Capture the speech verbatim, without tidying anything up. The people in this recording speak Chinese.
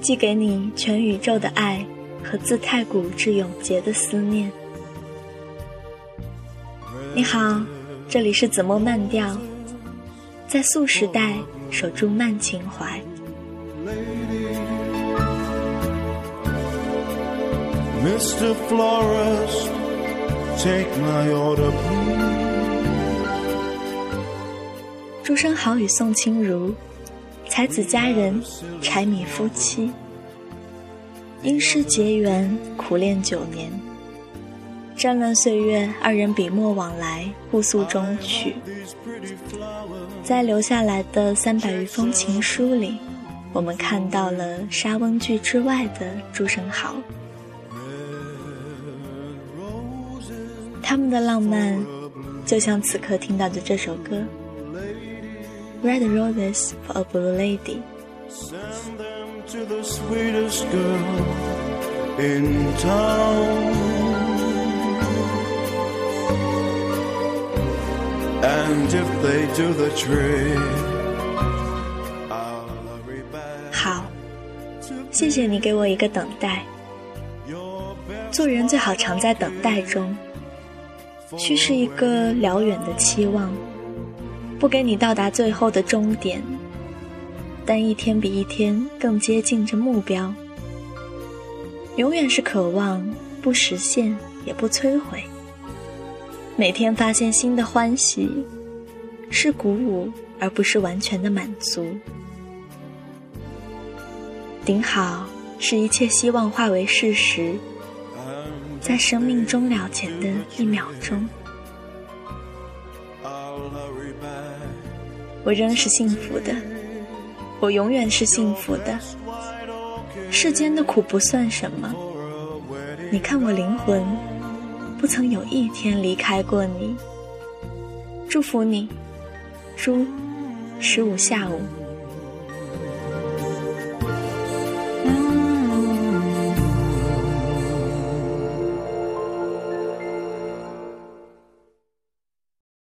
寄给你全宇宙的爱和自太古至永劫的思念。你好，这里是子墨慢调，在素时代守住慢情怀。 Mister Florist, take my order, please. 朱生豪与宋清如，才子佳人，柴米夫妻，因诗结缘，苦恋九年。战乱岁月，二人笔墨往来，互诉衷曲。在留下来的三百余封情书里，我们看到了莎翁剧之外的朱生豪。他们的浪漫，就像此刻听到的这首歌。Red roses for a blue lady. Send them to the sweetest girl in town. And if they do the trick, I'll hurry back. 好，谢谢你给我一个等待。做人最好常在等待中，须是一个辽远的期望。不给你到达最后的终点，但一天比一天更接近着目标。永远是渴望，不实现也不摧毁。每天发现新的欢喜，是鼓舞而不是完全的满足。顶好是一切希望化为事实，在生命终了前的一秒钟。我仍是幸福的，我永远是幸福的。世间的苦不算什么，你看我灵魂不曾有一天离开过你。祝福你，朱十五下午。